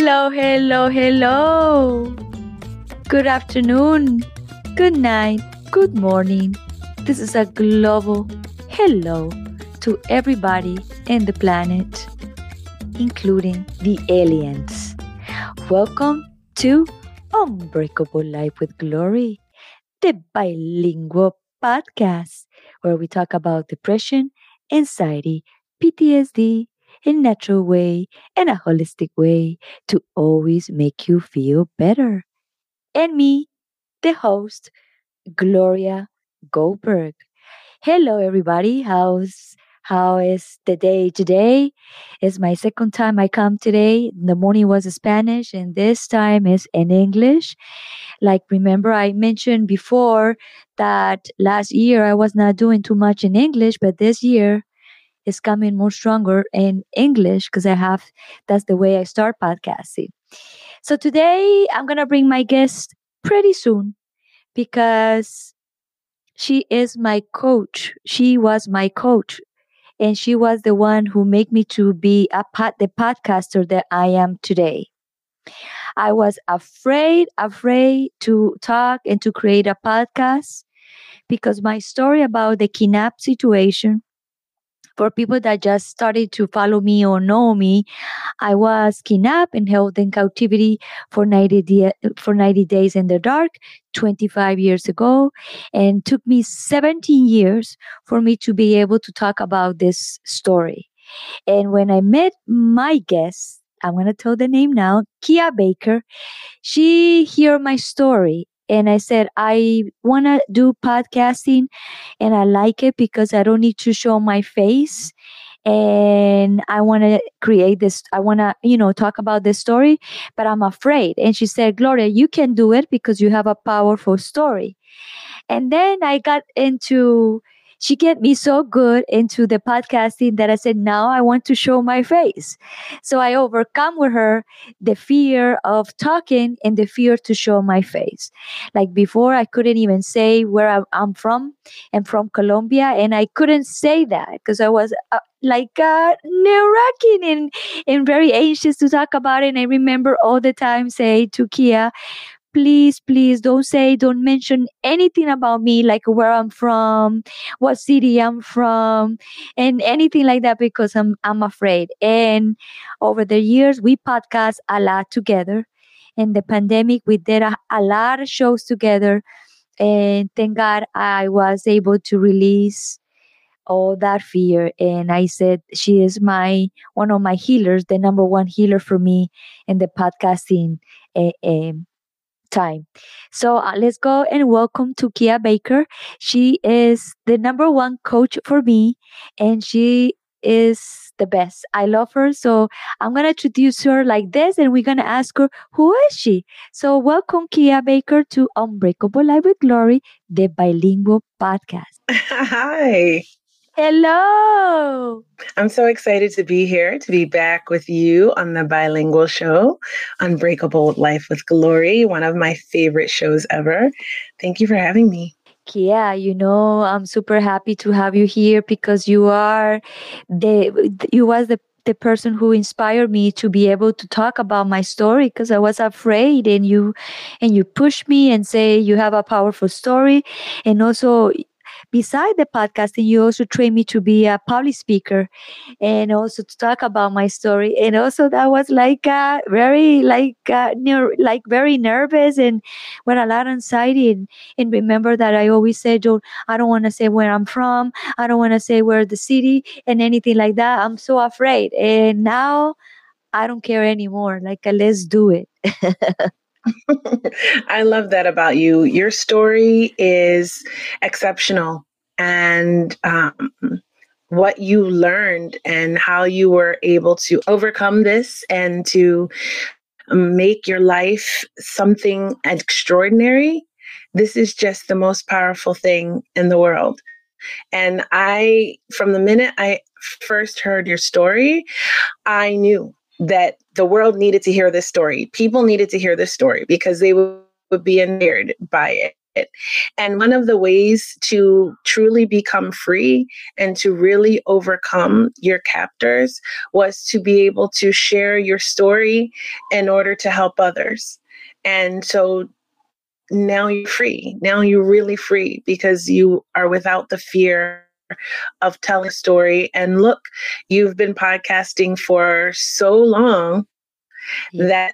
Hello, hello, hello. Good afternoon, good night, good morning. This is a global hello to everybody in the planet, including the aliens. Welcome to Unbreakable Life with Glory, the bilingual podcast where we talk about depression, anxiety, PTSD in natural way and a holistic way to always make you feel better. And me, the host, Gloria Goldberg. Hello everybody. How is the day today? It's my second time I come today. The morning was Spanish and this time is in English. Like, remember, I mentioned before that last year I was not doing too much in English, but this year is coming more stronger in English because that's the way I start podcasting. So today I'm going to bring my guest pretty soon because she is my coach. She was my coach and she was the one who made me to be the podcaster that I am today. I was afraid to talk and to create a podcast because my story about the kidnap situation, for people that just started to follow me or know me, I was kidnapped and held in captivity for 90 days in the dark 25 years ago, and took me 17 years for me to be able to talk about this story. And when I met my guest, I'm going to tell the name now, Kia Baker, she heard my story. And I said, I want to do podcasting and I like it because I don't need to show my face. And I want to create this. I want to, talk about this story, but I'm afraid. And she said, Gloria, you can do it because you have a powerful story. And then she get me so good into the podcasting that I said, now I want to show my face. So I overcome with her the fear of talking and the fear to show my face. Like before, I couldn't even say where I'm from. I'm from Colombia, and I couldn't say that because I was nerve-wracking and very anxious to talk about it. And I remember all the time say to Kia, please don't mention anything about me, like where I'm from, what city I'm from, and anything like that because I'm afraid. And over the years we podcast a lot together. In the pandemic we did a lot of shows together, and thank God I was able to release all that fear. And I said she is one of my healers, the number one healer for me in the podcasting uh, time. So let's go and welcome to Kia Baker. She is the number one coach for me, and she is the best. I love her. So I'm going to introduce her like this, and we're going to ask her, who is she? So welcome, Kia Baker, to Unbreakable Life with Glory, the bilingual podcast. Hi. Hello. I'm so excited to be here, to be back with you on the bilingual show, Unbreakable Life with Glory, one of my favorite shows ever. Thank you for having me. Kia, I'm super happy to have you here because you was the person who inspired me to be able to talk about my story because I was afraid, and you pushed me and say you have a powerful story. And also, beside the podcasting, you also trained me to be a public speaker and also to talk about my story. And also that was very nervous and with a lot of anxiety. And remember that I always said, I don't want to say where I'm from. I don't want to say where the city and anything like that. I'm so afraid. And now I don't care anymore. Let's do it. I love that about you. Your story is exceptional. And what you learned and how you were able to overcome this and to make your life something extraordinary. This is just the most powerful thing in the world. And from the minute I first heard your story, I knew that the world needed to hear this story. People needed to hear this story because they would be inspired by it. And one of the ways to truly become free and to really overcome your captors was to be able to share your story in order to help others. And so now you're free. Now you're really free because you are without the fear of telling a story. And look, you've been podcasting for so long that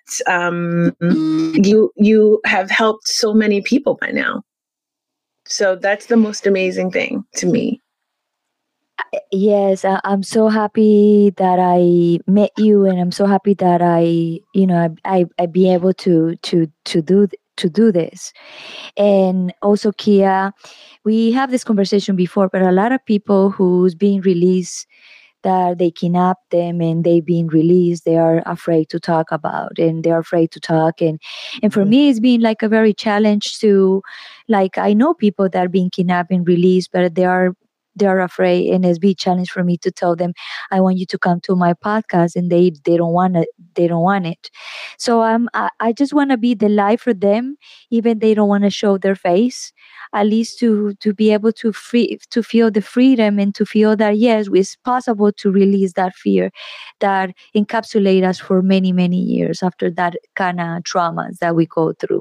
you have helped so many people by now. So that's the most amazing thing to me. Yes, I'm so happy that I met you, and I'm so happy that I be able to do this. And also, Kia, we have this conversation before, but a lot of people who's being released, that they kidnap them and they being released, they are afraid to talk about, and they're afraid to talk. And for me, it's been like a very challenge to, like, I know people that are being kidnapped and released, but they are afraid, and it's big challenge for me to tell them, I want you to come to my podcast, and they don't want it. They don't want it. So I just want to be the light for them, even they don't want to show their face, at least to be able to feel the freedom, and to feel that yes, it's possible to release that fear that encapsulate us for many years after that kind of traumas that we go through.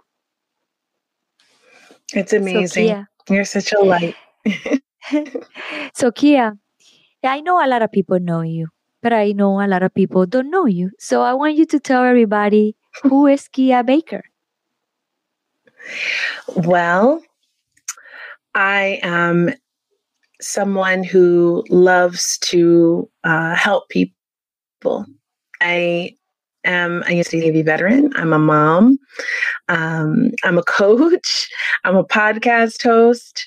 It's amazing. Kia. You're such a light. So Kia, I know a lot of people know you, but I know a lot of people don't know you. So I want you to tell everybody, who is Kia Baker? Well, I am someone who loves to help people. I am a U.S. Navy veteran. I'm a mom. I'm a coach. I'm a podcast host.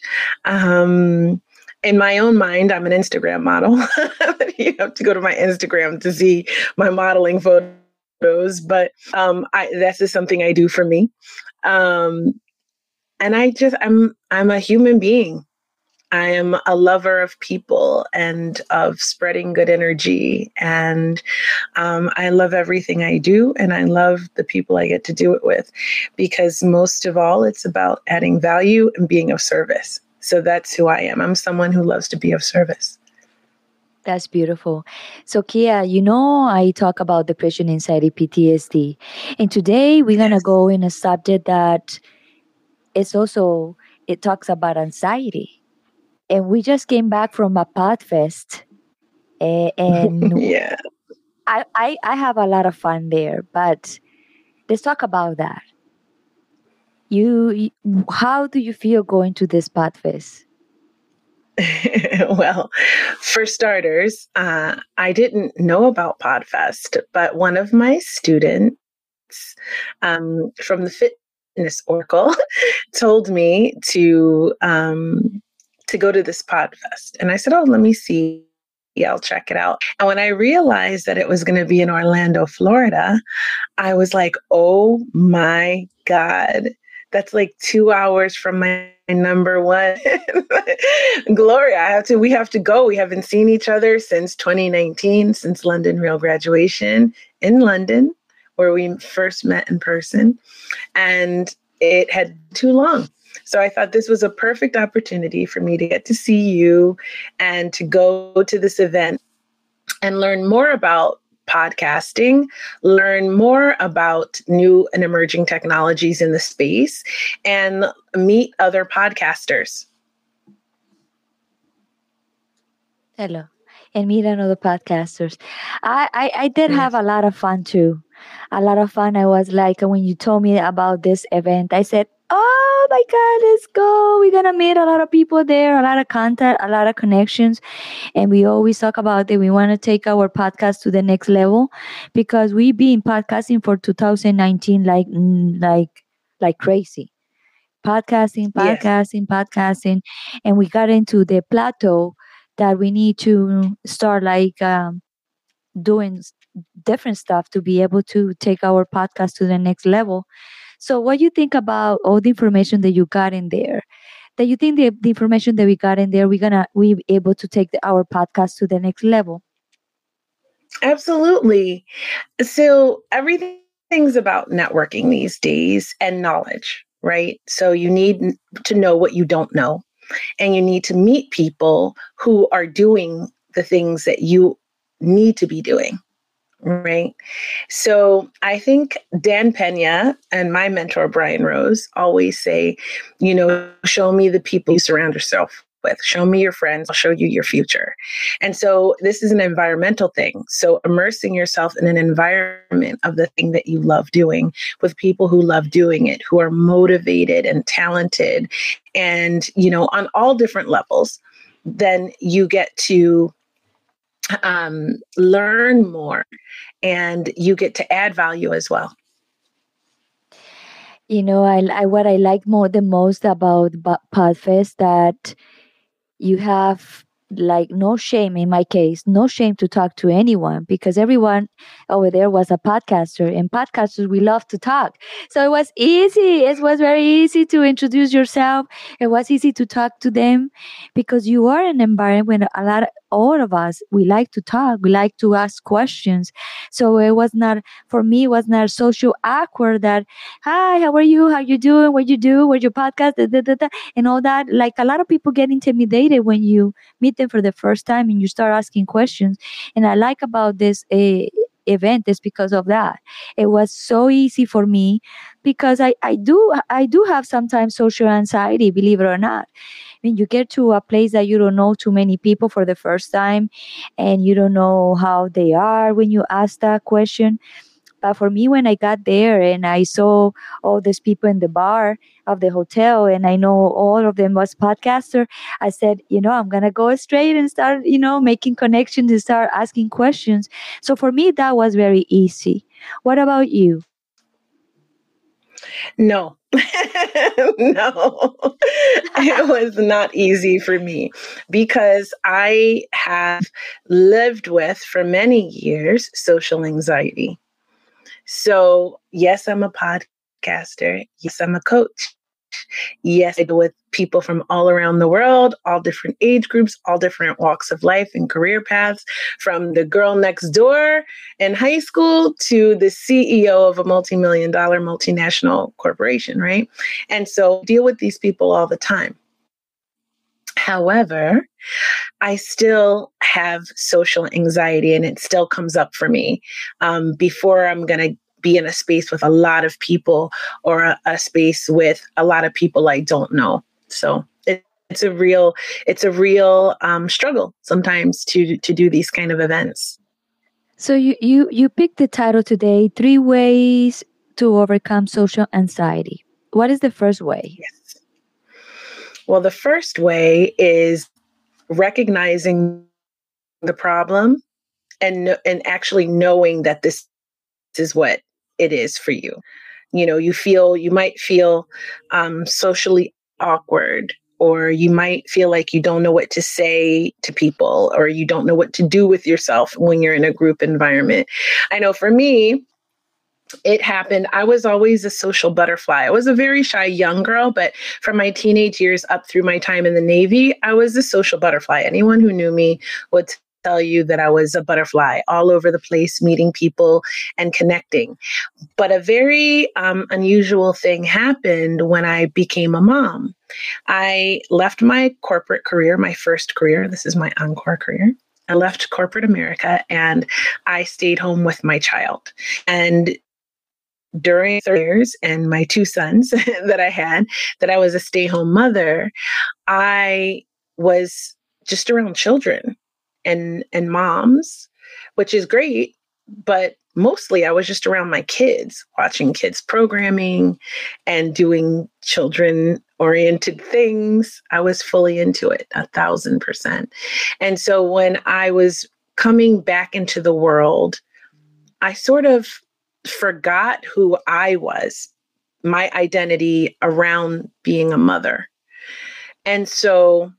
In my own mind, I'm an Instagram model. You have to go to my Instagram to see my modeling photos, but that's just something I do for me. And I'm a human being. I am a lover of people and of spreading good energy. And I love everything I do. And I love the people I get to do it with, because most of all, it's about adding value and being of service. So that's who I am. I'm someone who loves to be of service. That's beautiful. So Kia, I talk about depression, anxiety, PTSD. And today we're going to go in a subject that it talks about anxiety. And we just came back from a PodFest, and Yeah. I have a lot of fun there. But let's talk about that. How do you feel going to this PodFest? Well, for starters, I didn't know about PodFest, but one of my students from the Fitness Oracle told me to go to this PodFest. And I said, oh, let me see. Yeah, I'll check it out. And when I realized that it was going to be in Orlando, Florida, I was like, oh my God, that's like 2 hours from my number one. Gloria, we have to go. We haven't seen each other since 2019, since London Real graduation in London, where we first met in person. And it had too long. So I thought this was a perfect opportunity for me to get to see you and to go to this event and learn more about podcasting, learn more about new and emerging technologies in the space, and meet other podcasters. Hello. And meet another podcasters. I did have a lot of fun too. A lot of fun. I was like, when you told me about this event, I said, oh my God, let's go. We're going to meet a lot of people there, a lot of contact, a lot of connections. And we always talk about that we want to take our podcast to the next level, because we've been podcasting for 2019 like crazy. Podcasting. And we got into the plateau that we need to start doing different stuff to be able to take our podcast to the next level. So what do you think about all the information that you got in there? That you think the information that we got in there, we able to take our podcast to the next level? Absolutely. So everything's about networking these days and knowledge. right? So you need to know what you don't know, and you need to meet people who are doing the things that you need to be doing, right? So I think Dan Pena and my mentor, Brian Rose, always say, show me the people you surround yourself with. Show me your friends. I'll show you your future. And so this is an environmental thing. So immersing yourself in an environment of the thing that you love doing with people who love doing it, who are motivated and talented and, on all different levels, then you get to learn more and you get to add value as well. What I like the most about Podfest that you have like no shame, in my case, no shame to talk to anyone, because everyone over there was a podcaster, and podcasters, we love to talk. So it was easy. It was very easy to introduce yourself. It was easy to talk to them because you are in an environment when all of us, we like to talk, we like to ask questions. So it was not, for me, it was not social awkward that, hi, how are you? How you doing? What you do? What's your podcast? Da, da, da, da, and all that. Like a lot of people get intimidated when you meet them for the first time and you start asking questions. And I like about this event is because of that. It was so easy for me because I do have sometimes social anxiety, believe it or not. I mean, you get to a place that you don't know too many people for the first time, and you don't know how they are when you ask that question. But for me, when I got there and I saw all these people in the bar of the hotel, and I know all of them was podcaster, I said, I'm gonna go straight and start, making connections and start asking questions. So for me, that was very easy. What about you? No, no, it was not easy for me because I have lived with for many years social anxiety. So, yes, I'm a podcaster. Yes, I'm a coach. Yes, I deal with people from all around the world, all different age groups, all different walks of life and career paths, from the girl next door in high school to the CEO of a multi-million-dollar multinational corporation, right? And so deal with these people all the time. However, I still have social anxiety and it still comes up for me before I'm going to be in a space with a lot of people or a space with a lot of people I don't know. So it's a real struggle sometimes to do these kind of events. So you picked the title today, 3 Ways to Overcome Social Anxiety. What is the first way? Yes. Well, the first way is recognizing the problem and actually knowing that this is what it is for you. You might feel socially awkward, or you might feel like you don't know what to say to people, or you don't know what to do with yourself when you're in a group environment. I know for me, it happened. I was always a social butterfly. I was a very shy young girl, but from my teenage years up through my time in the Navy, I was a social butterfly. Anyone who knew me would tell you that I was a butterfly all over the place, meeting people and connecting. But a very unusual thing happened when I became a mom. I left my corporate career, my first career. This is my encore career. I left corporate America and I stayed home with my child. And during 30 years and my 2 sons that I had, that I was a stay-home mother, I was just around children and moms, which is great, but mostly I was just around my kids, watching kids programming and doing children-oriented things. I was fully into it, 1,000%. And so when I was coming back into the world, I sort of forgot who I was, my identity around being a mother. And so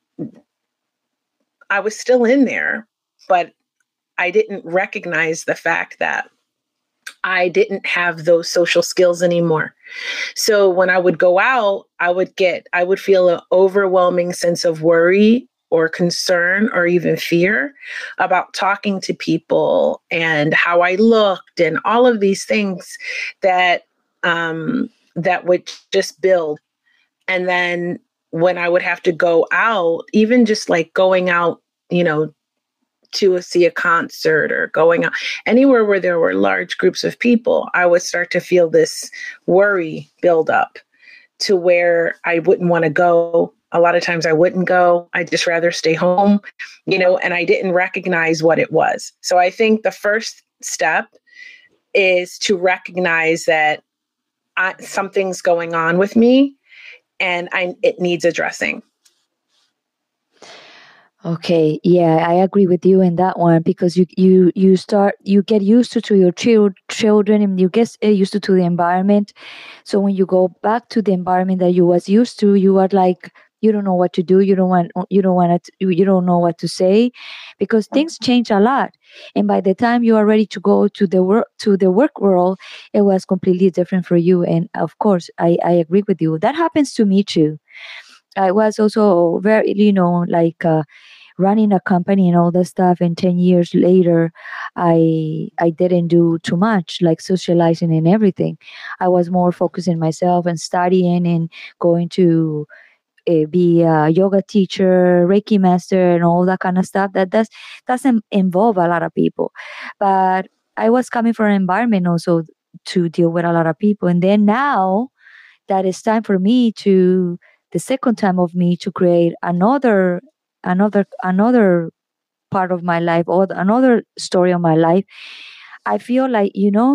I was still in there, but I didn't recognize the fact that I didn't have those social skills anymore. So when I would go out, I would feel an overwhelming sense of worry or concern or even fear about talking to people and how I looked and all of these things that that would just build. And then when I would have to go out, even just like going out, to see a concert or going out anywhere where there were large groups of people, I would start to feel this worry build up to where I wouldn't want to go. A lot of times I wouldn't go. I'd just rather stay home, and I didn't recognize what it was. So I think the first step is to recognize that something's going on with me and it needs addressing. Okay, yeah, I agree with you in that one, because you get used to your children, and you get used to the environment. So when you go back to the environment that you was used to, you are like, you don't know what to do, you don't know what to say, because things change a lot. And by the time you are ready to go to the work world, it was completely different for you. And of course, I agree with you. That happens to me too. I was also very, like running a company and all that stuff. And 10 years later, I didn't do too much, like socializing and everything. I was more focused in myself and studying and going to be a yoga teacher, Reiki master, and all that kind of stuff. Doesn't involve a lot of people. But I was coming from an environment also to deal with a lot of people. And then now that it's time for me to the second time of me to create another part of my life, or another story of my life, I feel like,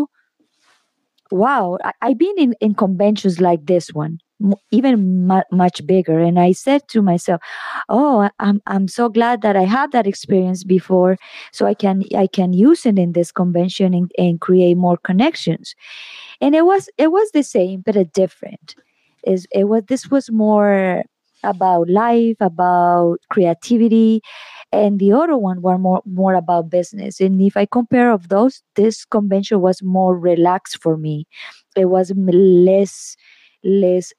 wow, I've been in conventions like this one, even much bigger. And I said to myself, oh, I'm so glad that I had that experience before, so I can use it in this convention, and create more connections. And it was the same but a different. This was more about life, about creativity, and the other one were more about business. And if I compare of those, this convention was more relaxed for me. It was less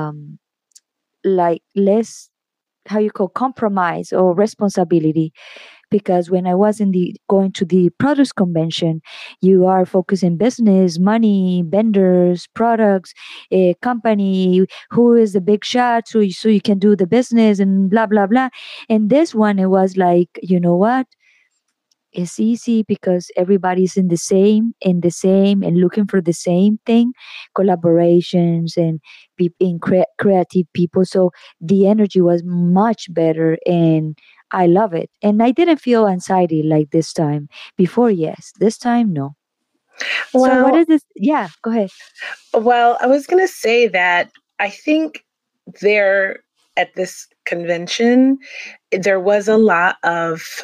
like less, how you call, compromise or responsibility. Because when I was going to the produce convention, you are focusing business, money, vendors, products, a company, who is the big shot, so you can do the business and blah blah blah. And this one, it was like, you know what? It's easy because everybody's in the same and looking for the same thing, collaborations and creative people. So the energy was much better, and I love it. And I didn't feel anxiety like this time. Before, yes. This time, no. So what Well, is this? Yeah, go ahead. well, I was going to say that I think there at this convention, there was a lot of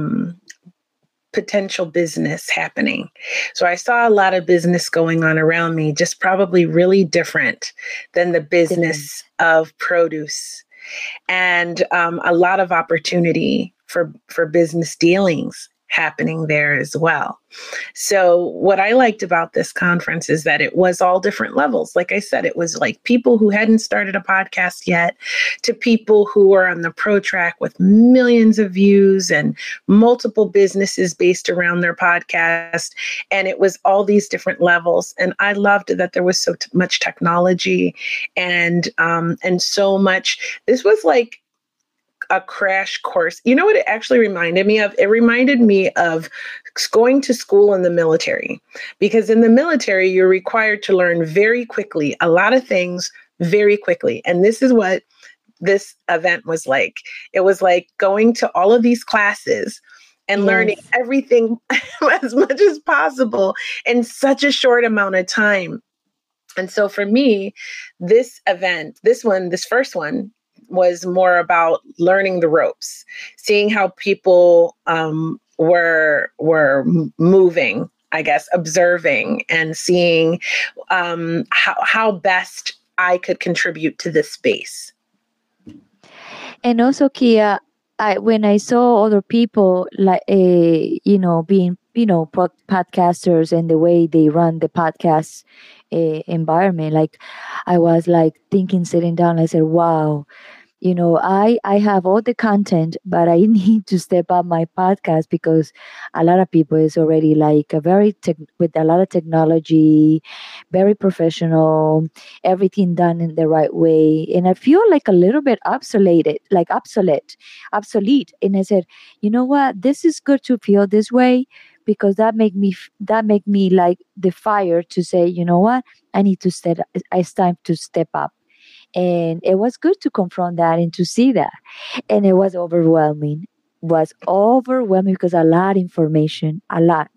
potential business happening. So I saw a lot of business going on around me, just probably really different than the Different. business of produce, and a lot of opportunity for business dealings happening there as well. So what I liked about this conference is that it was all different levels. Like I said, it was like people who hadn't started a podcast yet, to people who are on the pro track with millions of views and multiple businesses based around their podcast. And it was all these different levels. And I loved that there was so much technology and so much. This was like a crash course. You know what it actually reminded me of? It reminded me of going to school in the military, because in the military, you're required to learn very quickly, a lot of things very quickly. And this is what this event was like. It was like going to all of these classes and learning Yes. everything as much as possible in such a short amount of time. And so for me, this event, this first one, was more about learning the ropes, seeing how people were moving, I guess, observing and seeing how best I could contribute to this space. And also, Kia, when I saw other people like, being, podcasters, and the way they run the podcast environment, like, I was like thinking, sitting down, I said, wow, I have all the content, but I need to step up my podcast because a lot of people is already like a with a lot of technology, very professional, everything done in the right way, and I feel like a little bit obsolete. And I said, you know what, this is good to feel this way because that make me like the fire to say, you know what, I need to step. It's time to step up, and it was good to confront that and to see that, and it was overwhelming because a lot of information, a lot.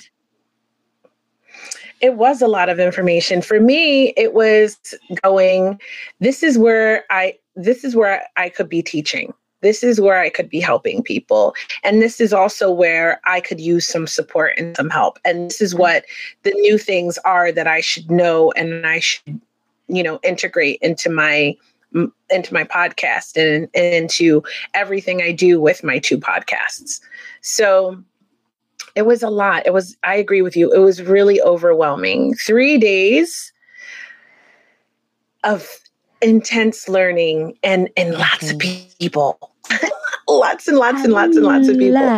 It was a lot of information. For me, it was going, this is where I could be teaching. This is where I could be helping people. And this is also where I could use some support and some help. And this is what the new things are that I should know and I should, integrate into my podcast and into everything I do with my two podcasts. So it was a lot. I agree with you. It was really overwhelming. 3 days of intense learning and lots of people. Lots and lots and lots and lots of people.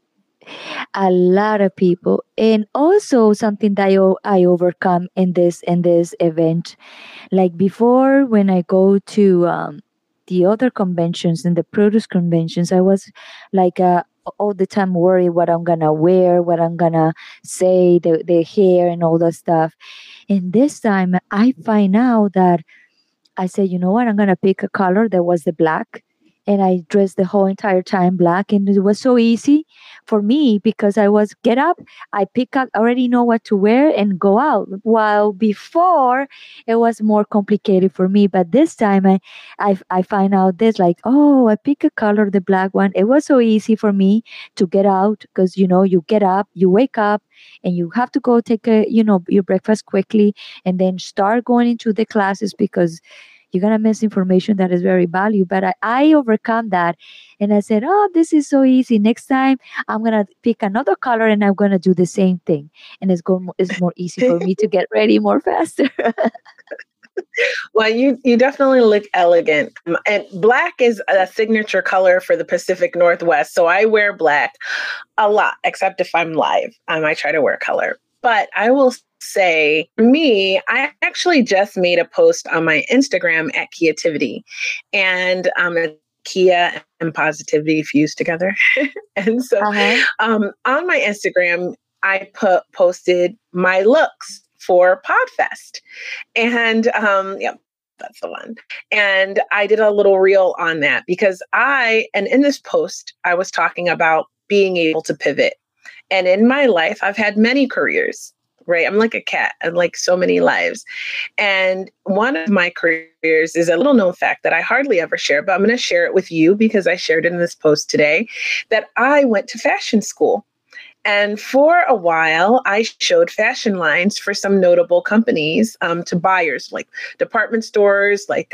A lot of people. And also something that I overcome in this event. Like before, when I go to the other conventions and the produce conventions, I was like all the time worried what I'm gonna wear, what I'm gonna say, the hair and all that stuff. And this time I find out that I said, you know what, I'm gonna pick a color that was the black. And I dressed the whole entire time black, and it was so easy for me because I was get up, I pick up, already know what to wear and go out. While before it was more complicated for me, but this time I find out this like, oh, I pick a color, the black one. It was so easy for me to get out because you get up, you wake up, and you have to go take your breakfast quickly, and then start going into the classes because you're gonna miss information that is very valuable. But I overcome that, and I said, "Oh, this is so easy. Next time, I'm gonna pick another color, and I'm gonna do the same thing, and it's more easy for me to get ready more faster." Well, you definitely look elegant. And black is a signature color for the Pacific Northwest. So I wear black a lot, except if I'm live. I try to wear color. But I will say, for me, I actually just made a post on my Instagram at Kiativity. And Kia and positivity fused together. And so on my Instagram, I posted my looks for Podfest. And yeah, that's the one. And I did a little reel on that because and in this post, I was talking about being able to pivot. And in my life, I've had many careers, right? I'm like a cat and like so many lives. And one of my careers is a little known fact that I hardly ever share, but I'm going to share it with you because I shared it in this post today, that I went to fashion school. And for a while, I showed fashion lines for some notable companies to buyers, like department stores, like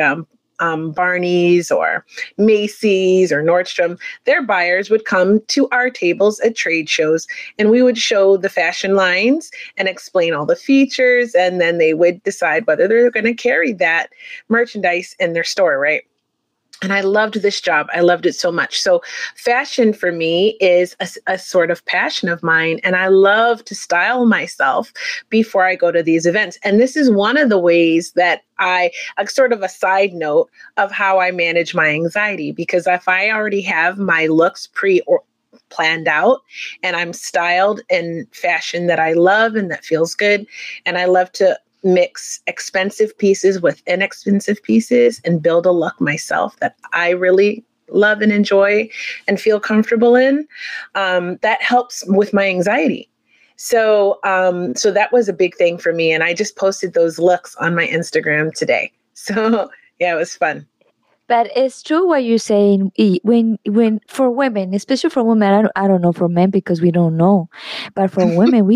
Barney's or Macy's or Nordstrom. Their buyers would come to our tables at trade shows, and we would show the fashion lines and explain all the features. And then they would decide whether they're going to carry that merchandise in their store, right? And I loved this job. I loved it so much. So fashion for me is a sort of passion of mine. And I love to style myself before I go to these events. And this is one of the ways that a sort of a side note of how I manage my anxiety, because if I already have my looks planned out and I'm styled in fashion that I love and that feels good, and I love to mix expensive pieces with inexpensive pieces and build a look myself that I really love and enjoy and feel comfortable in, that helps with my anxiety. So that was a big thing for me. And I just posted those looks on my Instagram today. So yeah, it was fun. But it's true what you're saying. When for women, especially for women, I don't know for men because we don't know, but for women,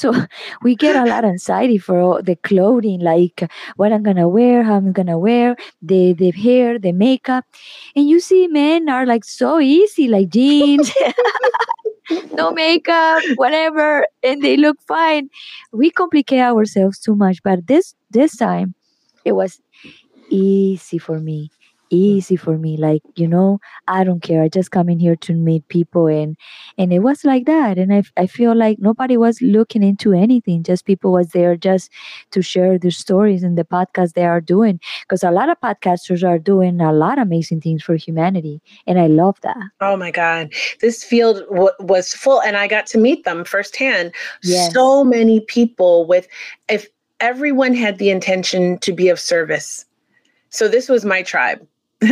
we get a lot of anxiety for all the clothing, like what I'm gonna wear, how I'm gonna wear, the hair, the makeup, and you see men are like so easy, like jeans, no makeup, whatever, and they look fine. We complicate ourselves too much, but this time, it was easy for me. easy for me. Like, I don't care. I just come in here to meet people, and it was like that. And I feel like nobody was looking into anything. Just people was there just to share their stories and the podcast they are doing. Because a lot of podcasters are doing a lot of amazing things for humanity. And I love that. Oh my God. This field was full, and I got to meet them firsthand. Yes. So many people if everyone had the intention to be of service. So this was my tribe.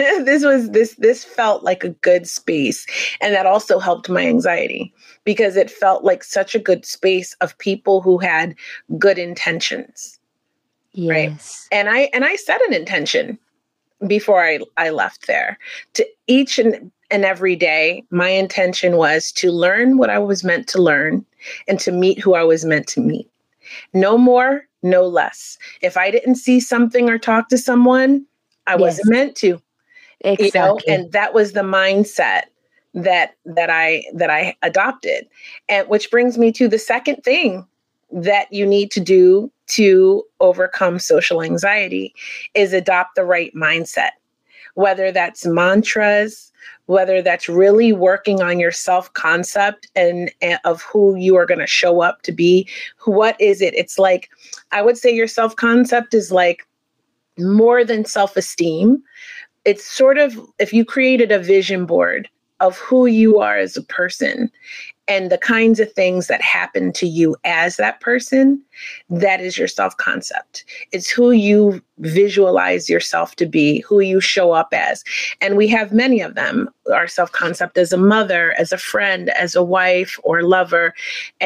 This felt like a good space. And that also helped my anxiety because it felt like such a good space of people who had good intentions. Right. Yes. And I set an intention before I left there. To each and every day, my intention was to learn what I was meant to learn and to meet who I was meant to meet. No more, no less. If I didn't see something or talk to someone, I wasn't Yes. meant to, Exactly. and that was the mindset that I adopted. And which brings me to the second thing that you need to do to overcome social anxiety is adopt the right mindset, whether that's mantras, whether that's really working on your self-concept and of who you are going to show up to be. What is it? It's like, I would say your self-concept is like more than self-esteem. It's sort of, if you created a vision board of who you are as a person and the kinds of things that happen to you as that person, that is your self-concept. It's who you visualize yourself to be, who you show up as. And we have many of them. Our self-concept as a mother, as a friend, as a wife or lover,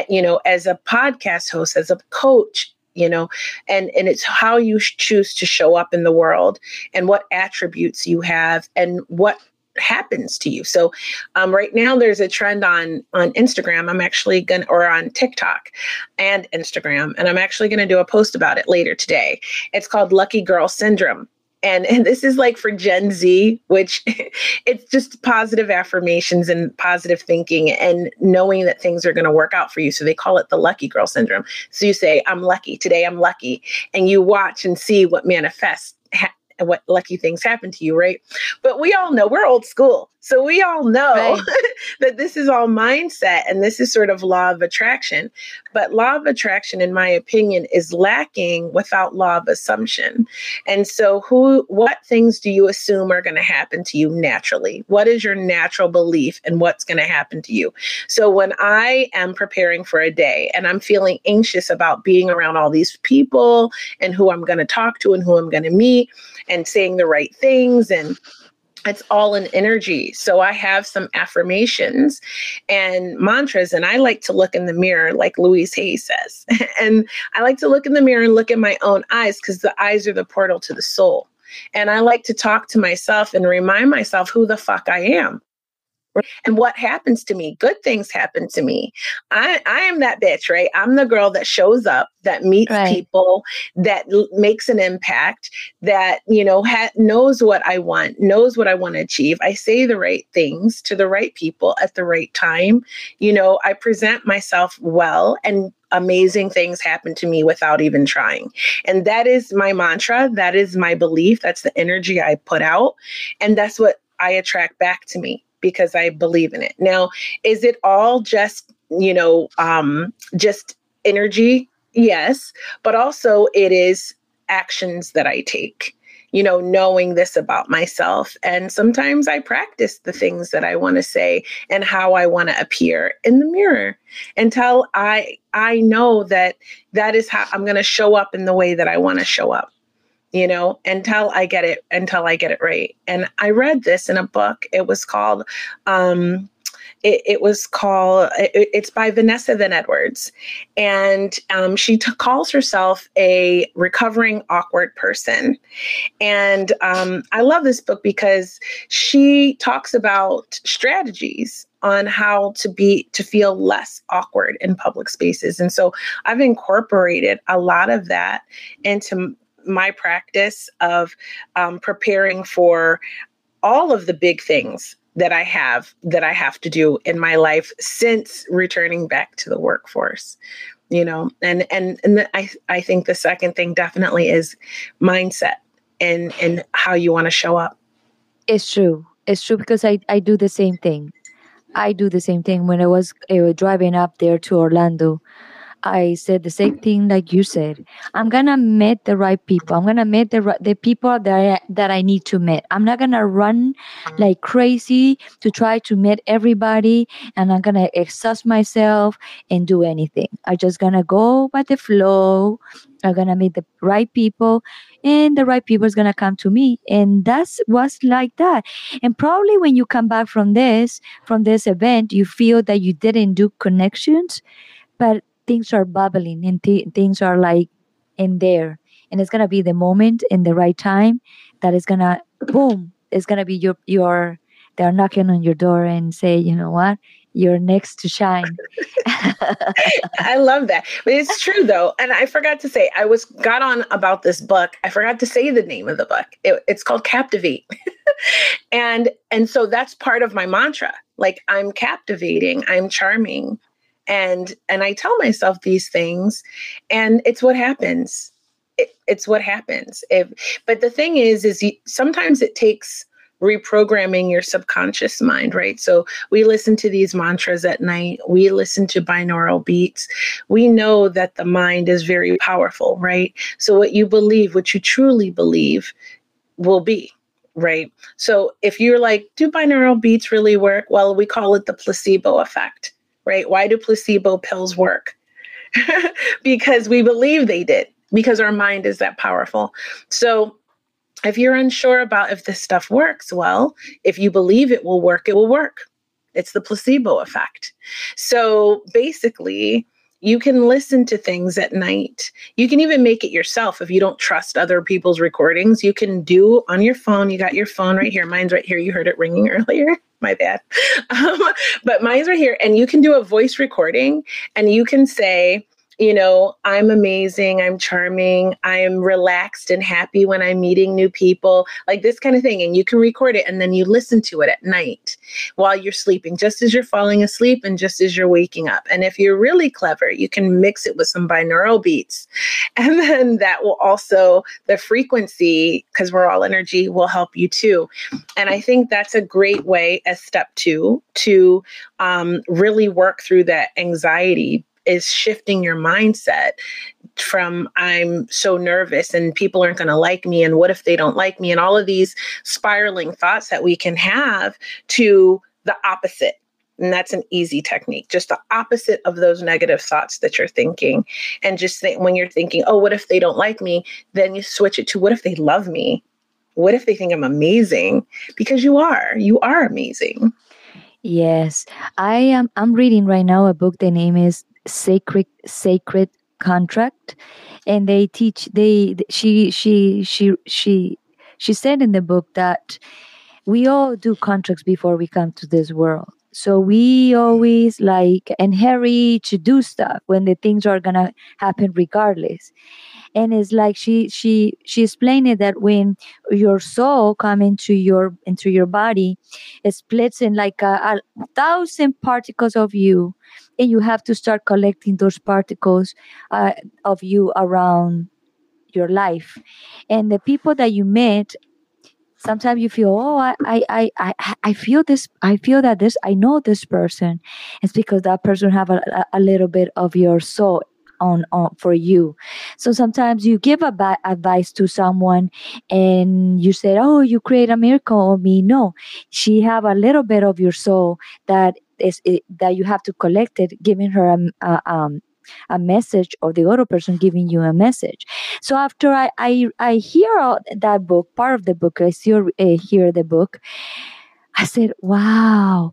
as a podcast host, as a coach, and it's how you choose to show up in the world and what attributes you have and what happens to you. So right now there's a trend on Instagram. I'm actually or on TikTok and Instagram, and I'm actually going to do a post about it later today. It's called Lucky Girl Syndrome. And this is like for Gen Z, which it's just positive affirmations and positive thinking and knowing that things are going to work out for you. So they call it the Lucky Girl Syndrome. So you say, I'm lucky. Today I'm lucky. And you watch and see what manifests what lucky things happen to you, right? But we all know, we're old school. So we all know Right. that this is all mindset and this is sort of law of attraction. But law of attraction, in my opinion, is lacking without law of assumption. And so what things do you assume are going to happen to you naturally? What is your natural belief and what's going to happen to you? So when I am preparing for a day and I'm feeling anxious about being around all these people and who I'm going to talk to and who I'm going to meet and saying the right things, and it's all an energy. So I have some affirmations and mantras, and I like to look in the mirror, like Louise Hay says. And I like to look in the mirror and look at my own eyes because the eyes are the portal to the soul. And I like to talk to myself and remind myself who the fuck I am. And what happens to me? Good things happen to me. I am that bitch, right? I'm the girl that shows up, that meets Right. people, that makes an impact, that, knows what I want, knows what I want to achieve. I say the right things to the right people at the right time. I present myself well, and amazing things happen to me without even trying. And that is my mantra. That is my belief. That's the energy I put out. And that's what I attract back to me, because I believe in it. Now, is it all just, just energy? Yes. But also it is actions that I take, knowing this about myself. And sometimes I practice the things that I want to say and how I want to appear in the mirror until I know that is how I'm going to show up in the way that I want to show up. Until I get it right. And I read this in a book. It was called, it's by Vanessa Van Edwards. And she calls herself a recovering awkward person. And I love this book because she talks about strategies on how to feel less awkward in public spaces. And so I've incorporated a lot of that into my practice of preparing for all of the big things that I have to do in my life since returning back to the workforce, and I think the second thing definitely is mindset and how you want to show up. It's true. It's true because I do the same thing. I do the same thing when I was driving up there to Orlando. I said the same thing like you said. I'm gonna meet the right people. I'm gonna meet the people that I need to meet. I'm not gonna run like crazy to try to meet everybody, and I'm gonna exhaust myself and do anything. I'm just gonna go by the flow. I'm gonna meet the right people, and the right people is gonna come to me. And that's was like that. And probably when you come back from this event, you feel that you didn't do connections, but things are bubbling and things are like in there, and it's gonna be the moment in the right time that is gonna boom, it's gonna be your they're knocking on your door and say, you know what, you're next to shine. I love that. But it's true though. And I forgot to say, I was got on about this book. I forgot to say the name of the book. It's called Captivate. And so that's part of my mantra. Like, I'm captivating, I'm charming. And I tell myself these things, and it's what happens. It's what happens. But the thing is sometimes it takes reprogramming your subconscious mind, right? So we listen to these mantras at night. We listen to binaural beats. We know that the mind is very powerful, right? So what you believe, what you truly believe, will be. Right. So if you're like, do binaural beats really work? Well, we call it the placebo effect, right? Why do placebo pills work? Because we believe they did, because our mind is that powerful. So if you're unsure about if this stuff works, well, if you believe it will work, it will work. It's the placebo effect. So basically, you can listen to things at night. You can even make it yourself if you don't trust other people's recordings. You can do on your phone. You got your phone right here. Mine's right here. You heard it ringing earlier. My bad. But mine's right here. And you can do a voice recording, and you can say, I'm amazing, I'm charming, I am relaxed and happy when I'm meeting new people, like this kind of thing. And you can record it, and then you listen to it at night while you're sleeping, just as you're falling asleep and just as you're waking up. And if you're really clever, you can mix it with some binaural beats. And then that will also, the frequency, because we're all energy, will help you too. And I think that's a great way as step 2 to really work through that anxiety, is shifting your mindset from I'm so nervous and people aren't going to like me, and what if they don't like me, and all of these spiraling thoughts that we can have, to the opposite. And that's an easy technique, just the opposite of those negative thoughts that you're thinking. And just think, when you're thinking, oh, what if they don't like me? Then you switch it to, what if they love me? What if they think I'm amazing? Because you are amazing. Yes, I'm reading right now a book. The name is Sacred Contract, and they teach she said in the book that we all do contracts before we come to this world. So we always like inherit to do stuff when the things are gonna happen regardless. And it's like she explained it that when your soul come into your body, it splits in like a thousand particles of you, and you have to start collecting those particles of you around your life. And the people that you met, sometimes you feel, oh, I feel this, I feel that this, I know this person. It's because that person have a little bit of your soul on for you. So sometimes you give a bad advice to someone, and you say, oh, you create a miracle on me. No, she have a little bit of your soul that that you have to collect it, giving her a message, or the other person giving you a message. So after I hear that book, part of the book, I still hear the book. I said, "Wow,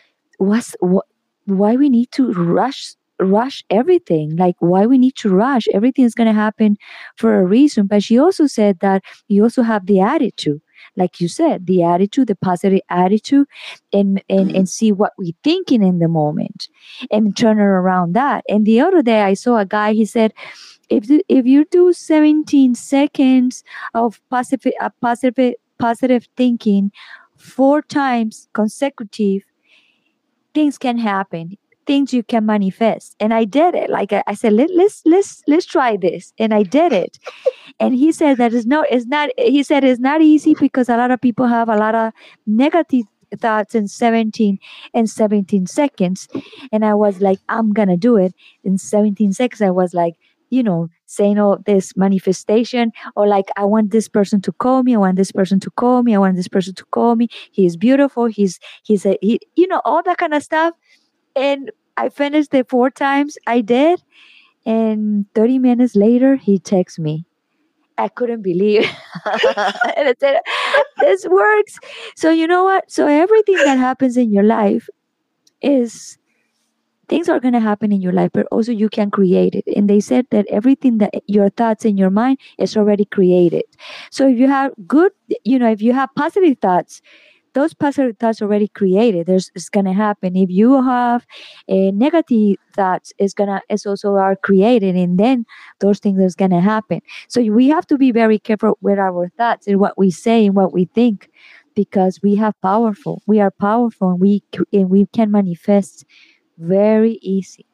why we need to rush everything? Like, why we need to rush? Everything is going to happen for a reason." But she also said that you also have the attitude, like you said, the attitude, the positive attitude, and see what we're thinking in the moment, and turn it around that. And the other day, I saw a guy. He said, if you do 17 seconds of positive thinking 4 times consecutive, things can happen. things you can manifest. And I did it. Like I said, let's try this. And I did it. And he said that it's not, he said it's not easy because a lot of people have a lot of negative thoughts in 17 seconds. And I was like, I'm going to do it in 17 seconds. I was like, saying all this manifestation, or like, I want this person to call me. I want this person to call me. I want this person to call me. He's beautiful. All that kind of stuff. And I finished it 4 times. I did. And 30 minutes later, he texts me. I couldn't believe it. And I said, this works. So you know what? So everything that happens in your life is, things are going to happen in your life, but also you can create it. And they said that everything that your thoughts in your mind is already created. So if you have if you have positive thoughts, those positive thoughts already created. It's gonna happen. If you have negative thoughts, it's also are created, and then those things is gonna happen. So we have to be very careful with our thoughts and what we say and what we think, because we are powerful, and we can manifest very easy.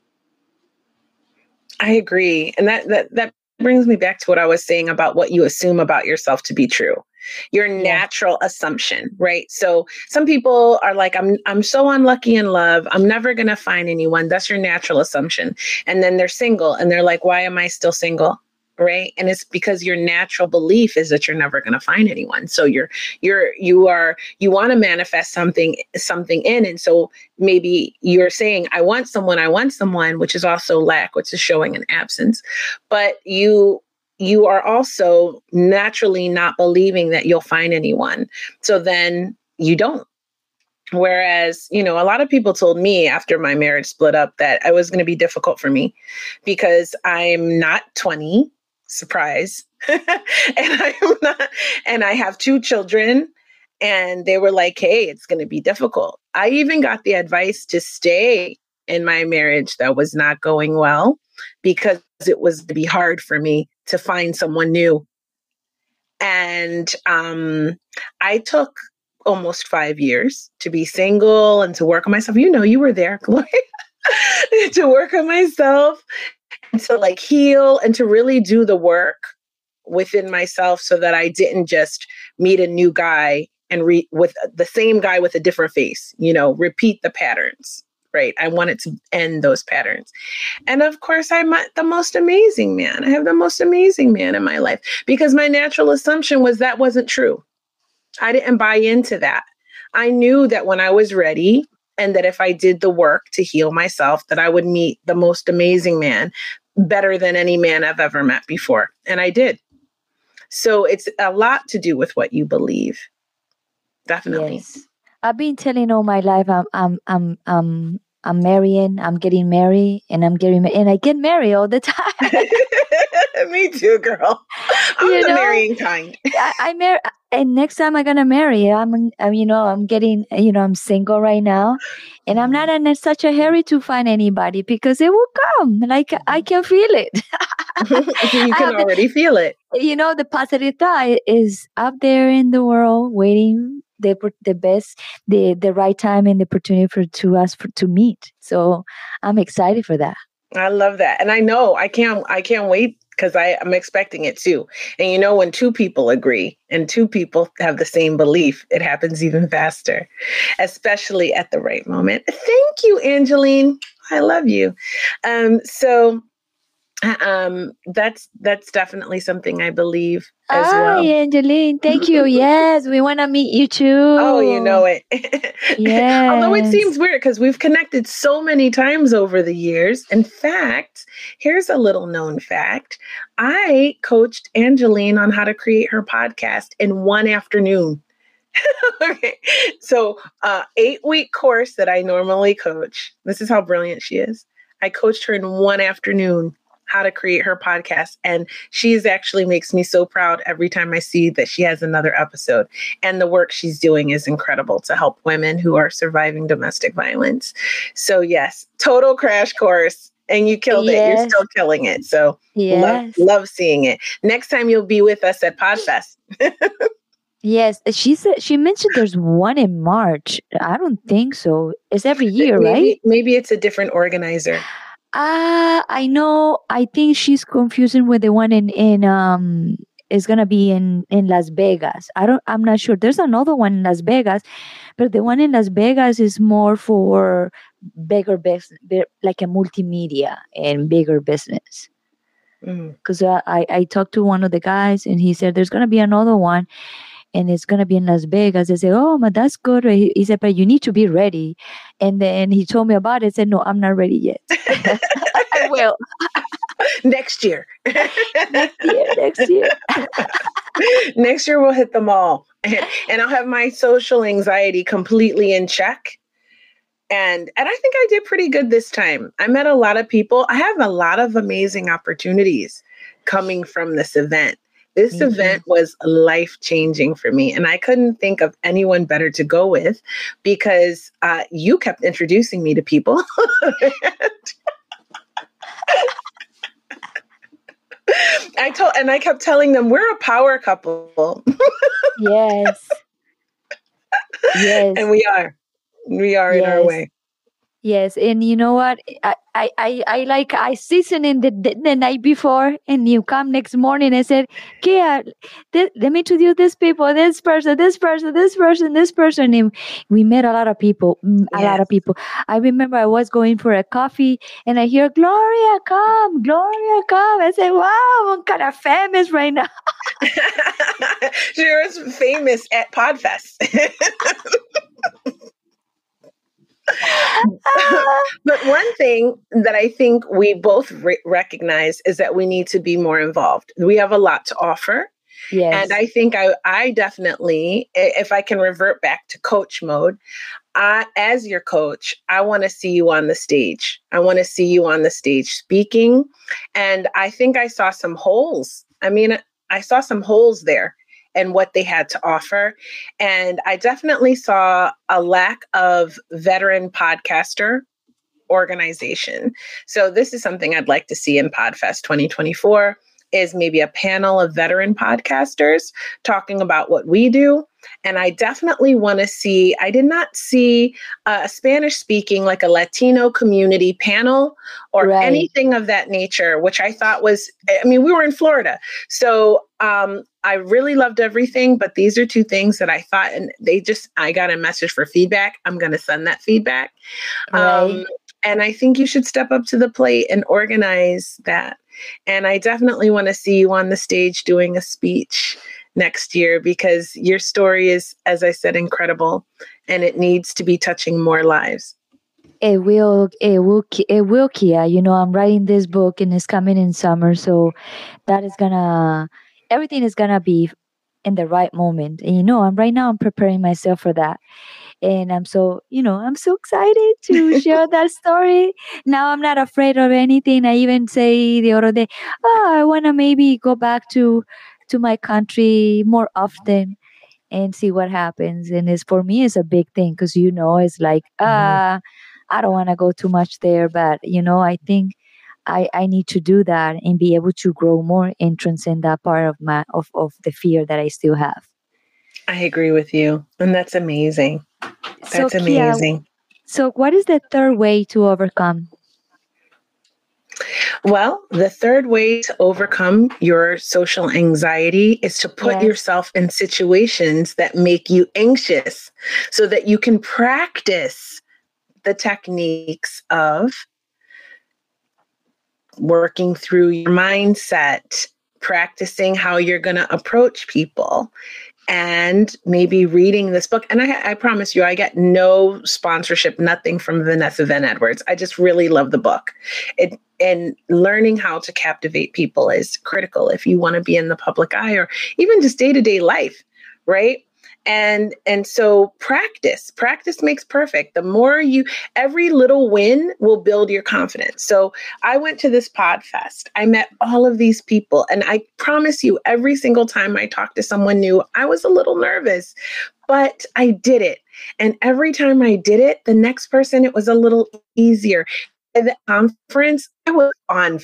I agree, and that brings me back to what I was saying about what you assume about yourself to be true. Your natural assumption, right? So some people are like, I'm so unlucky in love, I'm never going to find anyone. That's your natural assumption. And then they're single and they're like, why am I still single? Right? And it's because your natural belief is that you're never going to find anyone. So you want to manifest something in. And so maybe you're saying, I want someone, which is also lack, which is showing an absence. But you are also naturally not believing that you'll find anyone. So then you don't. Whereas, a lot of people told me after my marriage split up that it was going to be difficult for me because I'm not 20, surprise. and I have 2 children, and they were like, hey, it's going to be difficult. I even got the advice to stay in my marriage that was not going well because it was to be hard for me to find someone new. And I took almost 5 years to be single and to work on myself. You were there, Gloria, to work on myself and to like heal and to really do the work within myself so that I didn't just meet a new guy and with the same guy with a different face, repeat the patterns. Right. I wanted to end those patterns. And of course, I met the most amazing man. I have the most amazing man in my life because my natural assumption was that wasn't true. I didn't buy into that. I knew that when I was ready and that if I did the work to heal myself, that I would meet the most amazing man, better than any man I've ever met before. And I did. So it's a lot to do with what you believe. Definitely. Yes. I've been telling all my life I'm marrying, I'm getting married, and and I get married all the time. Me too, girl. I'm the marrying kind. I marry, and next time I'm gonna marry. I'm getting, I'm single right now, and I'm not in such a hurry to find anybody because it will come. Like I can feel it. You can already feel it. The positive thought is up there in the world waiting. The best, the right time and the opportunity to meet. So I'm excited for that. I love that. And I know I can't wait because I'm expecting it too. And when 2 people agree and 2 people have the same belief, it happens even faster, especially at the right moment. Thank you, Angeline. I love you. That's definitely something I believe as well. Hi, Angeline. Thank you. Yes, we want to meet you too. Oh, you know it. Yes. Although it seems weird because we've connected so many times over the years. In fact, here's a little known fact. I coached Angeline on how to create her podcast in one afternoon. Okay. So 8-week course that I normally coach. This is how brilliant she is. I coached her in one afternoon how to create her podcast. And she's actually makes me so proud every time I see that she has another episode. And the work she's doing is incredible to help women who are surviving domestic violence. So yes, total crash course. And you killed it. You're still killing it. So love seeing it. Next time you'll be with us at PodFest. Yes, she mentioned there's one in March. I don't think so. It's every year, right? Maybe it's a different organizer. I know. I think she's confusing with the one in is gonna be in Las Vegas. I'm not sure. There's another one in Las Vegas, but the one in Las Vegas is more for bigger business, like a multimedia and bigger business. Mm. Because I talked to one of the guys and he said there's gonna be another one and it's gonna be in Las Vegas. I said, "Oh, but that's good." He said, "But you need to be ready." And then he told me about it. I said, "No, I'm not ready yet." I will Next year. next year. Next year. Next year we'll hit them all. And I'll have my social anxiety completely in check. And I think I did pretty good this time. I met a lot of people. I have a lot of amazing opportunities coming from this event. This Me event too. was life changing for me, and I couldn't think of anyone better to go with because you kept introducing me to people. I kept telling them we're a power couple, Yes. and Yes. we are in our Yes. way. Yes, and you know what? I season in the night before, and you come next morning. I said, "Kia, let me introduce these people, this person, this person, this person, this person." And we met a lot of people, a lot Yes. of people. I remember I was going for a coffee, and I hear Gloria, come, Gloria, come. I said, "Wow, I'm kind of famous right now." She was famous at Podfest. But one thing that I think we both recognize is that we need to be more involved. We have a lot to offer. And Yes, I think I definitely, if I can revert back to coach mode, as your coach, I want to see you on the stage. I want to see you on the stage speaking. And I think I saw some holes. I mean, I saw some holes there and what they had to offer. And I definitely saw a lack of veteran podcaster organization. So this is something I'd like to see in Podfest 2024 is maybe a panel of veteran podcasters talking about what we do. And I definitely want to see, I did not see a Spanish speaking, like a Latino community panel or right. anything of that nature, which I thought was, I mean, we were in Florida. So I really loved everything, but these are two things that I thought, and I got a message for feedback. I'm going to send that feedback. Right. And I think you should step up to the plate and organize that. And I definitely want to see you on the stage doing a speech next year because your story is, as I said, incredible and it needs to be touching more lives. It will, Kia. You know, I'm writing this book and it's coming in summer, so that is gonna, everything is gonna be in the right moment. And you know, I'm preparing myself for that. And I'm so excited to share that story. Now I'm not afraid of anything. I even say the other day, oh, I wanna maybe go back to my country more often and see what happens. And it's for me, it's a big thing because it's like Mhm. I don't want to go too much there, but I think I need to do that and be able to grow more and transcend that part of of the fear that I still have. I agree with you. And that's amazing. So That's Kia, amazing. so what is the third way to overcome? Well, the third way to overcome your social anxiety is to put Yes. yourself in situations that make you anxious so that you can practice the techniques of working through your mindset, practicing how you're going to approach people, and maybe reading this book. And I promise you, I get no sponsorship, nothing from Vanessa Van Edwards. I just really love the book. And learning how to captivate people is critical if you want to be in the public eye or even just day-to-day life, right? And so practice makes perfect. The more every little win will build your confidence. So I went to this Podfest. I met all of these people. And I promise you, every single time I talked to someone new, I was a little nervous, but I did it. And every time I did it, the next person, it was a little easier. At the conference, I was on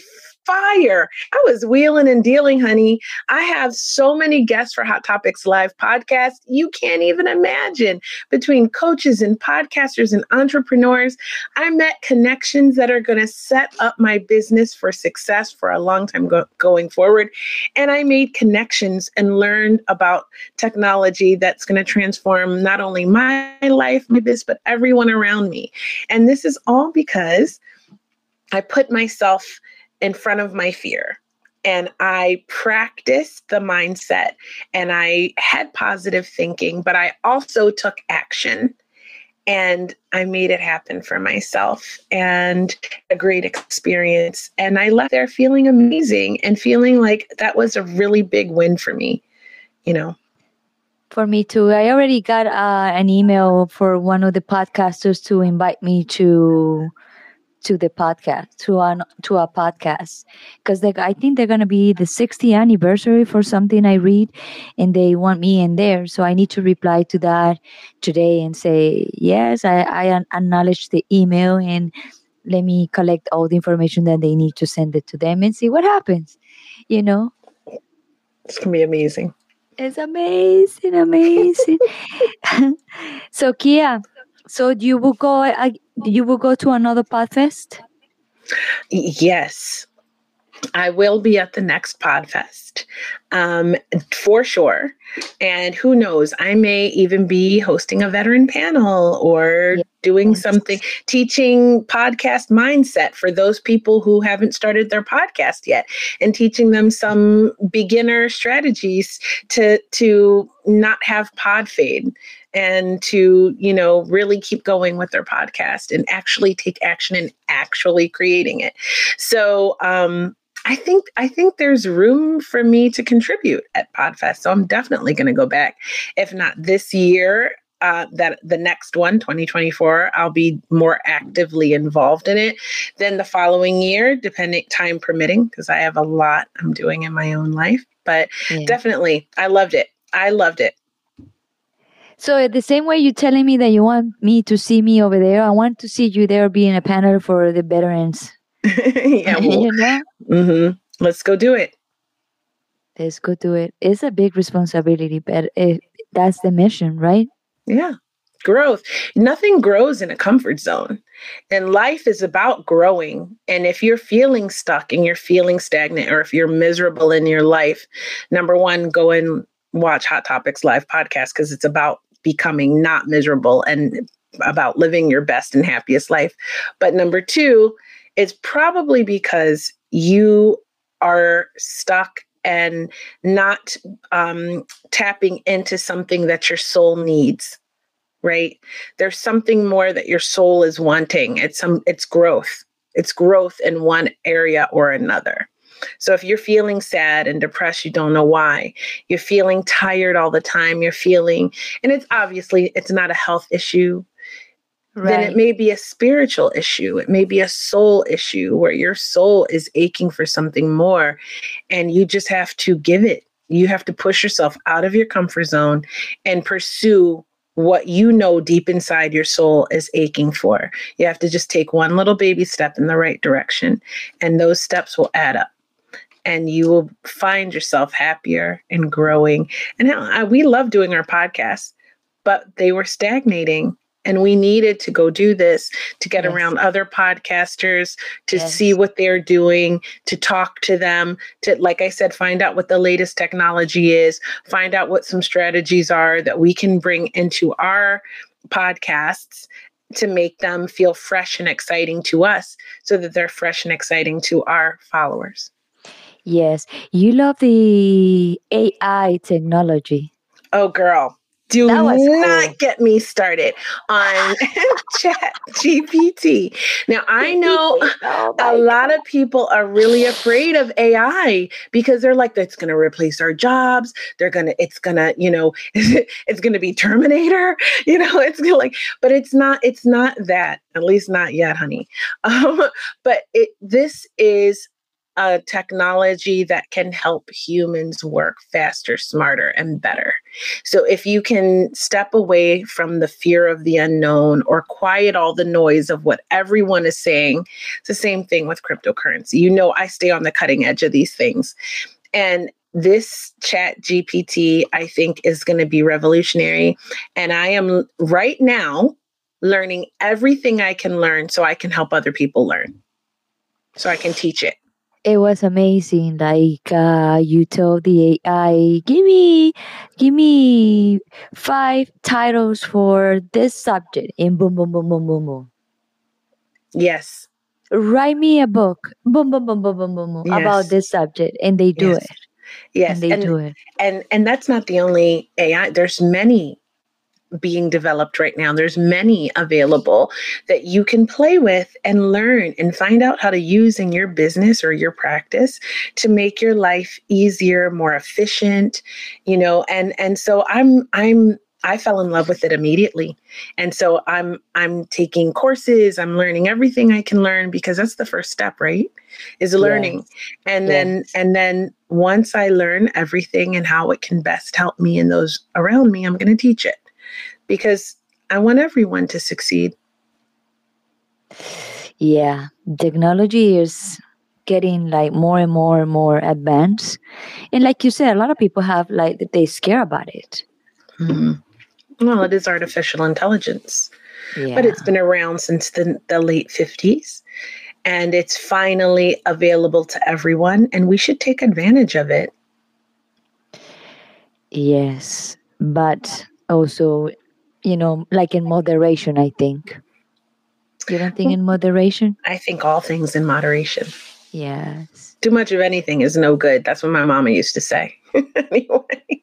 fire. I was wheeling and dealing, honey. I have so many guests for Hot Topics Live podcast. You can't even imagine. Between coaches and podcasters and entrepreneurs, I met connections that are going to set up my business for success for a long time going forward. And I made connections and learned about technology that's going to transform not only my life, my business, but everyone around me. And this is all because I put myself in front of my fear and I practiced the mindset and I had positive thinking, but I also took action and I made it happen for myself and a great experience. And I left there feeling amazing and feeling like that was a really big win for me, you know. For me too. I already got an email for one of the podcasters to invite me to the podcast, to a podcast, because I think they're gonna be the 60th anniversary for something I read, and they want me in there. So I need to reply to that today and say yes. I acknowledge the email, and let me collect all the information that they need to send it to them and see what happens. You know, It's gonna be amazing. it's amazing, amazing. So Kia, so you will go to another Podfest? Yes, I will be at the next Podfest for sure. And who knows, I may even be hosting a veteran panel or doing something, teaching podcast mindset for those people who haven't started their podcast yet and teaching them some beginner strategies to not have pod fade and to, really keep going with their podcast and actually take action and actually creating it. So, I think there's room for me to contribute at Podfest. So I'm definitely going to go back. If not this year, that the next one, 2024, I'll be more actively involved in it. Then the following year, time permitting, because I have a lot I'm doing in my own life. But definitely, I loved it. So the same way you're telling me that you want me to see me over there, I want to see you there being a panel for the veterans. Yeah, well, let's go do it. Let's go do it. It's a big responsibility, but that's the mission, right? Yeah. Growth. Nothing grows in a comfort zone. And life is about growing. And if you're feeling stuck and you're feeling stagnant, or if you're miserable in your life, number one, go and watch Hot Topics Live podcast, because it's about becoming not miserable and about living your best and happiest life. But number two, it's probably because you are stuck and not tapping into something that your soul needs, right? There's something more that your soul is wanting. It's growth. It's growth in one area or another. So if you're feeling sad and depressed, you don't know why. You're feeling tired all the time. And it's not a health issue. Right. Then it may be a spiritual issue. It may be a soul issue where your soul is aching for something more, and you just have to give it. You have to push yourself out of your comfort zone and pursue what you know deep inside your soul is aching for. You have to just take one little baby step in the right direction, and those steps will add up. And you will find yourself happier and growing. And we love doing our podcasts, but they were stagnating. And we needed to go do this to get around other podcasters, to see what they're doing, to talk to them, to, like I said, find out what the latest technology is, find out what some strategies are that we can bring into our podcasts to make them feel fresh and exciting to us, so that they're fresh and exciting to our followers. Yes. You love the AI technology. Oh, girl. Do not get me started on ChatGPT. Now, I know a lot of people are really afraid of AI because they're like, that's going to replace our jobs. It's going to be Terminator. But it's not that, at least not yet, honey. But this is a technology that can help humans work faster, smarter, and better. So if you can step away from the fear of the unknown or quiet all the noise of what everyone is saying, it's the same thing with cryptocurrency. You know, I stay on the cutting edge of these things. And this chat GPT, I think, is going to be revolutionary. And I am right now learning everything I can learn so I can help other people learn, so I can teach it. It was amazing. Like you told the AI, give me 5 titles for this subject, and boom, boom, boom, boom, boom, boom. Yes. Write me a book, boom, boom, boom, boom, boom, boom, boom, about Yes. this subject, and they do Yes. it. Yes. And they do it. And that's not the only AI. There's many being developed right now. There's many available that you can play with and learn and find out how to use in your business or your practice to make your life easier, more efficient, you know, and so I fell in love with it immediately. And so I'm taking courses, I'm learning everything I can learn because that's the first step, right? Is learning. Yes. And Yes. then once I learn everything and how it can best help me and those around me, I'm going to teach it because I want everyone to succeed. Yeah. Technology is getting like more and more and more advanced. And like you said, a lot of people have like they scare about it. Well, it is artificial intelligence, Yeah. but it's been around since the late 50s and it's finally available to everyone and we should take advantage of it. Yes. But also, you know, like in moderation, I think. You don't think in moderation? I think all things in moderation. Yes. Too much of anything is no good. That's what my mama used to say. Anyway.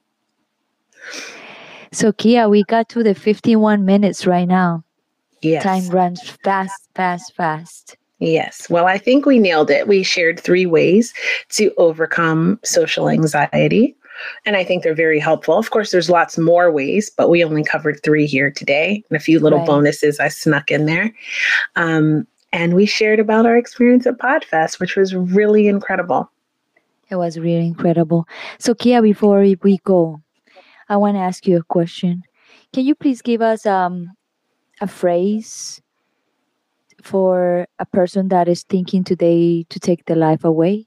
So, Kia, we got to the 51 minutes right now. Yes. Time runs fast, fast, fast. Yes. Well, I think we nailed it. We shared 3 ways to overcome social anxiety. And I think they're very helpful. Of course, there's lots more ways, but we only covered 3 here today and a few little Right. bonuses I snuck in there. And we shared about our experience at PodFest, which was really incredible. It was really incredible. So, Kia, before we go, I want to ask you a question. Can you please give us a phrase for a person that is thinking today to take their life away?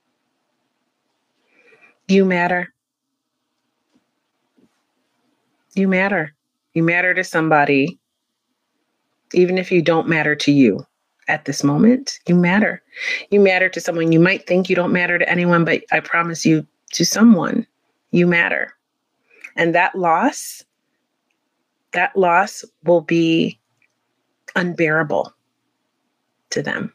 You matter. You matter. You matter to somebody, even if you don't matter to you at this moment. You matter. You matter to someone. You might think you don't matter to anyone, but I promise you, to someone, you matter. And that loss will be unbearable to them.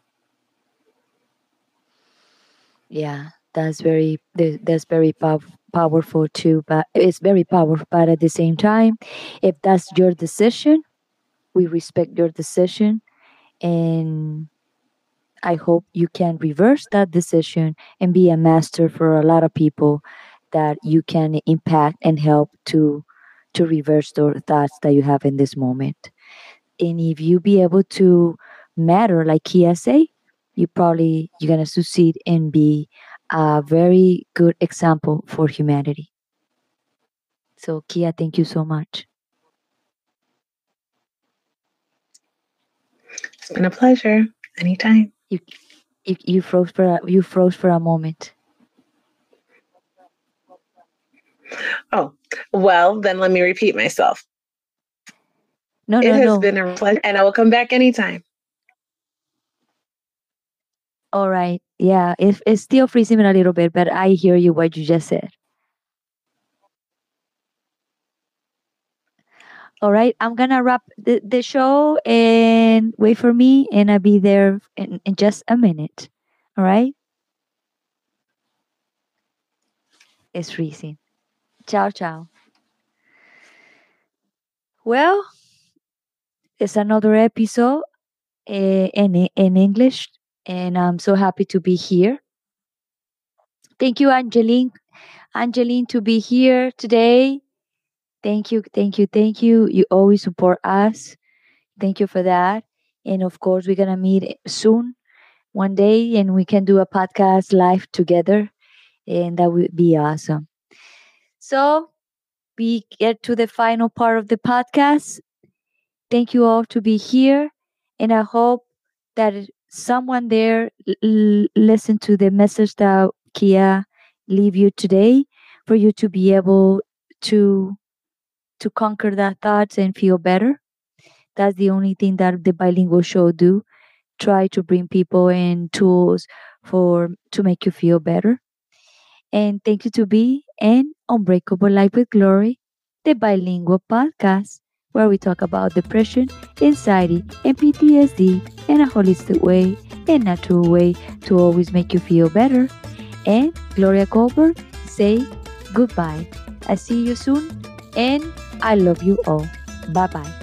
Yeah, that's very powerful too. But it's very powerful. But at the same time, if that's your decision, we respect your decision, and I hope you can reverse that decision and be a master for a lot of people that you can impact and help to reverse the thoughts that you have in this moment. And if you be able to matter like Kia say, you're gonna succeed and be a very good example for humanity. So Kia, thank you so much. It's been a pleasure. Anytime. You froze for a moment. Oh, well, then let me repeat myself. No, It no, has no. been a pleasure, and I will come back anytime. All right. Yeah, it's still freezing a little bit, but I hear you what you just said. All right, I'm gonna wrap the show and wait for me, and I'll be there in just a minute. All right? It's freezing. Ciao, ciao. Well, it's another episode in English, and I'm so happy to be here. Thank you, Angeline, to be here today. Thank you, thank you, thank you. You always support us. Thank you for that. And of course, we're gonna meet soon one day and we can do a podcast live together, and that would be awesome. So we get to the final part of the podcast. Thank you all to be here, and I hope that someone there listen to the message that Kia leave you today, for you to be able to conquer that thoughts and feel better. That's the only thing that the bilingual show do. Try to bring people and tools for to make you feel better. And thank you to be in Unbreakable Life with Glory, the bilingual podcast where we talk about depression, anxiety, and PTSD in a holistic way and natural way to always make you feel better. And Gloria Goldberg say goodbye. I see you soon, and I love you all. Bye bye.